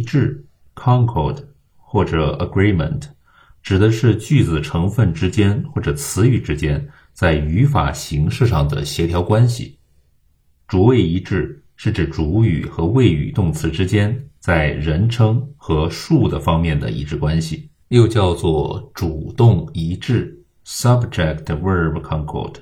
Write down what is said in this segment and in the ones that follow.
致 concord 或者 agreement， 指的是句子成分之间或者词语之间在语法形式上的协调关系。主谓一致是指主语和谓语动词之间在人称和数的方面的一致关系，又叫做主动一致 subject-verb concord。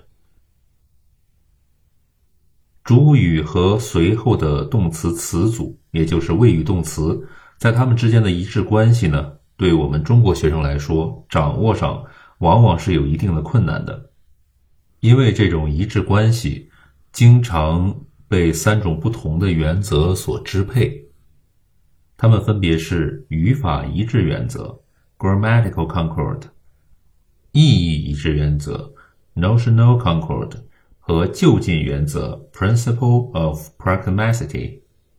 主语和随后的动词词组，也就是谓语动词，在它们之间的一致关系呢，对我们中国学生来说，掌握上往往是有一定的困难的。因为这种一致关系经常被3种不同的原则所支配，它们分别是语法一致原则 grammatical concord， 意义一致原则 notional concord 和就近原则 principle of pragmaticity。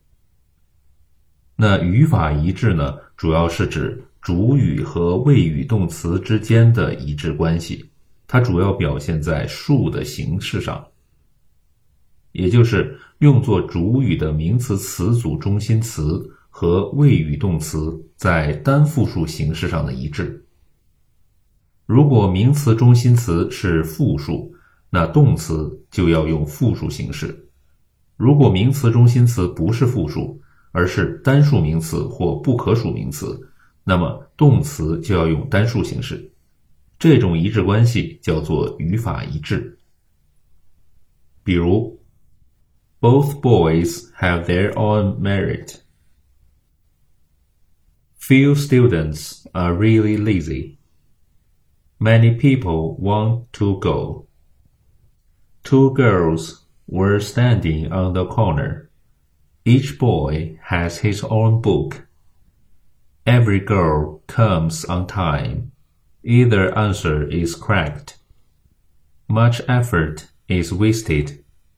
那语法一致呢，主要是指主语和谓语动词之间的一致关系，它主要表现在数的形式上，也就是用作主语的名词词组中心词和谓语动词在单复数形式上的一致。如果名词中心词是复数，那动词就要用复数形式。如果名词中心词不是复数，而是单数名词或不可数名词，那么动词就要用单数形式。这种一致关系叫做语法一致。比如 Both boys have their own merit. Few students are really lazy. Many people want to go. Two girls were standing on the corner. Each boy has his own book. Every girl comes on time. Either answer is correct. Much effort is wasted.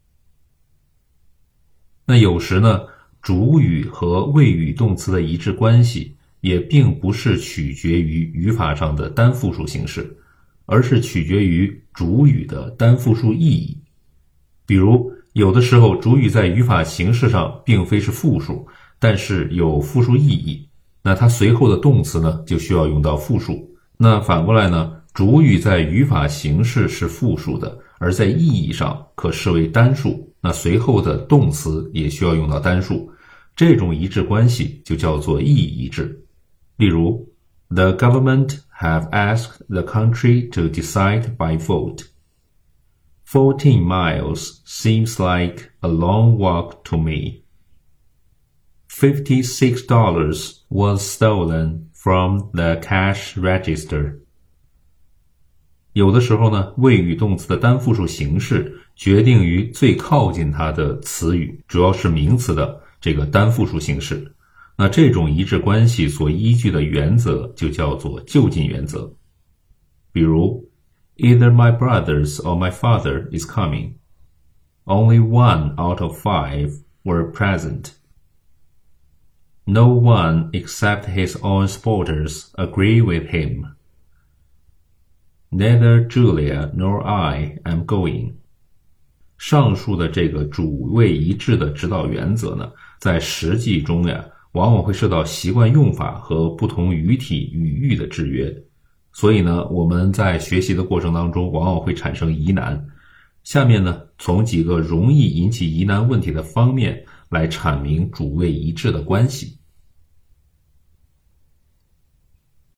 那有时呢，主语和谓语动词的一致关系也并不是取决于语法上的单复数形式，而是取决于主语的单复数意义。比如有的时候主语在语法形式上并非是复数，但是有复数意义，那它随后的动词呢就需要用到复数。那反过来呢，主语在语法形式是复数的，而在意义上可视为单数，那随后的动词也需要用到单数。这种一致关系就叫做意义一致。例如 The government have asked the country to decide by vote. 14 miles seems like a long walk to me. $56 was stolen from the cash register. 有的时候呢，谓语动词的单复数形式决定于最靠近它的词语，主要是名词的这个单复数形式。那这种一致关系所依据的原则就叫做就近原则。比如 Either my brothers or my father is coming. Only 1 out of 5 were present. No one except his own supporters agree with him. Neither Julia nor I am going. 上述的这个主谓一致的指导原则呢，在实际中呀，往往会受到习惯用法和不同语体语域的制约。所以呢，我们在学习的过程当中往往会产生疑难。下面呢，从几个容易引起疑难问题的方面来阐明主谓一致的关系。